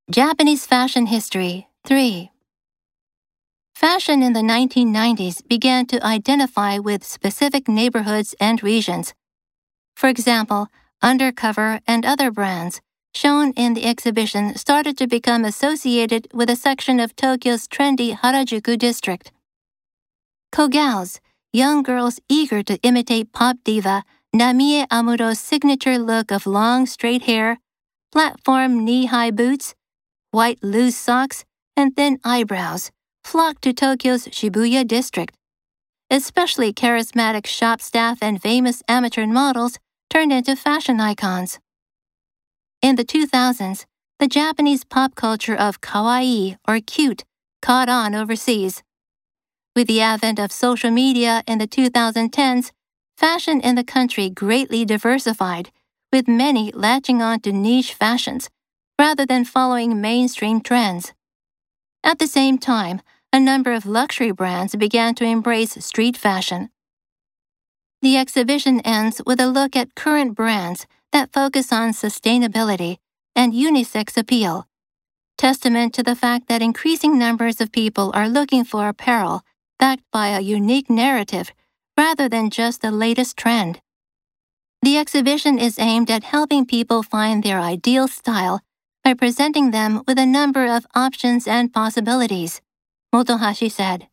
Japanese Fashion History 3. Fashion in the 1990s began to identify with specific neighborhoods and regions. For example, Undercover and other brands shown in the exhibition started to become associated with a section of Tokyo's trendy Harajuku district. Kogals, young girls eager to imitate pop diva Namie Amuro's signature look of long straight hair, platform knee-high boots, white loose socks, and thin eyebrows, flocked to Tokyo's Shibuya district. Especially charismatic shop staff and famous amateur models turned into fashion icons. In the 2000s, the Japanese pop culture of kawaii or cute caught on overseas. With the advent of social media in the 2010s, fashion in the country greatly diversified, with many latching on to niche fashions rather than following mainstream trends. At the same time, a number of luxury brands began to embrace street fashion. The exhibition ends with a look at current brands that focus on sustainability and unisex appeal, testament to the fact that increasing numbers of people are looking for apparel backed by a unique narrative rather than just the latest trend. The exhibition is aimed at helping people find their ideal style by presenting them with a number of options and possibilities, Motohashi said.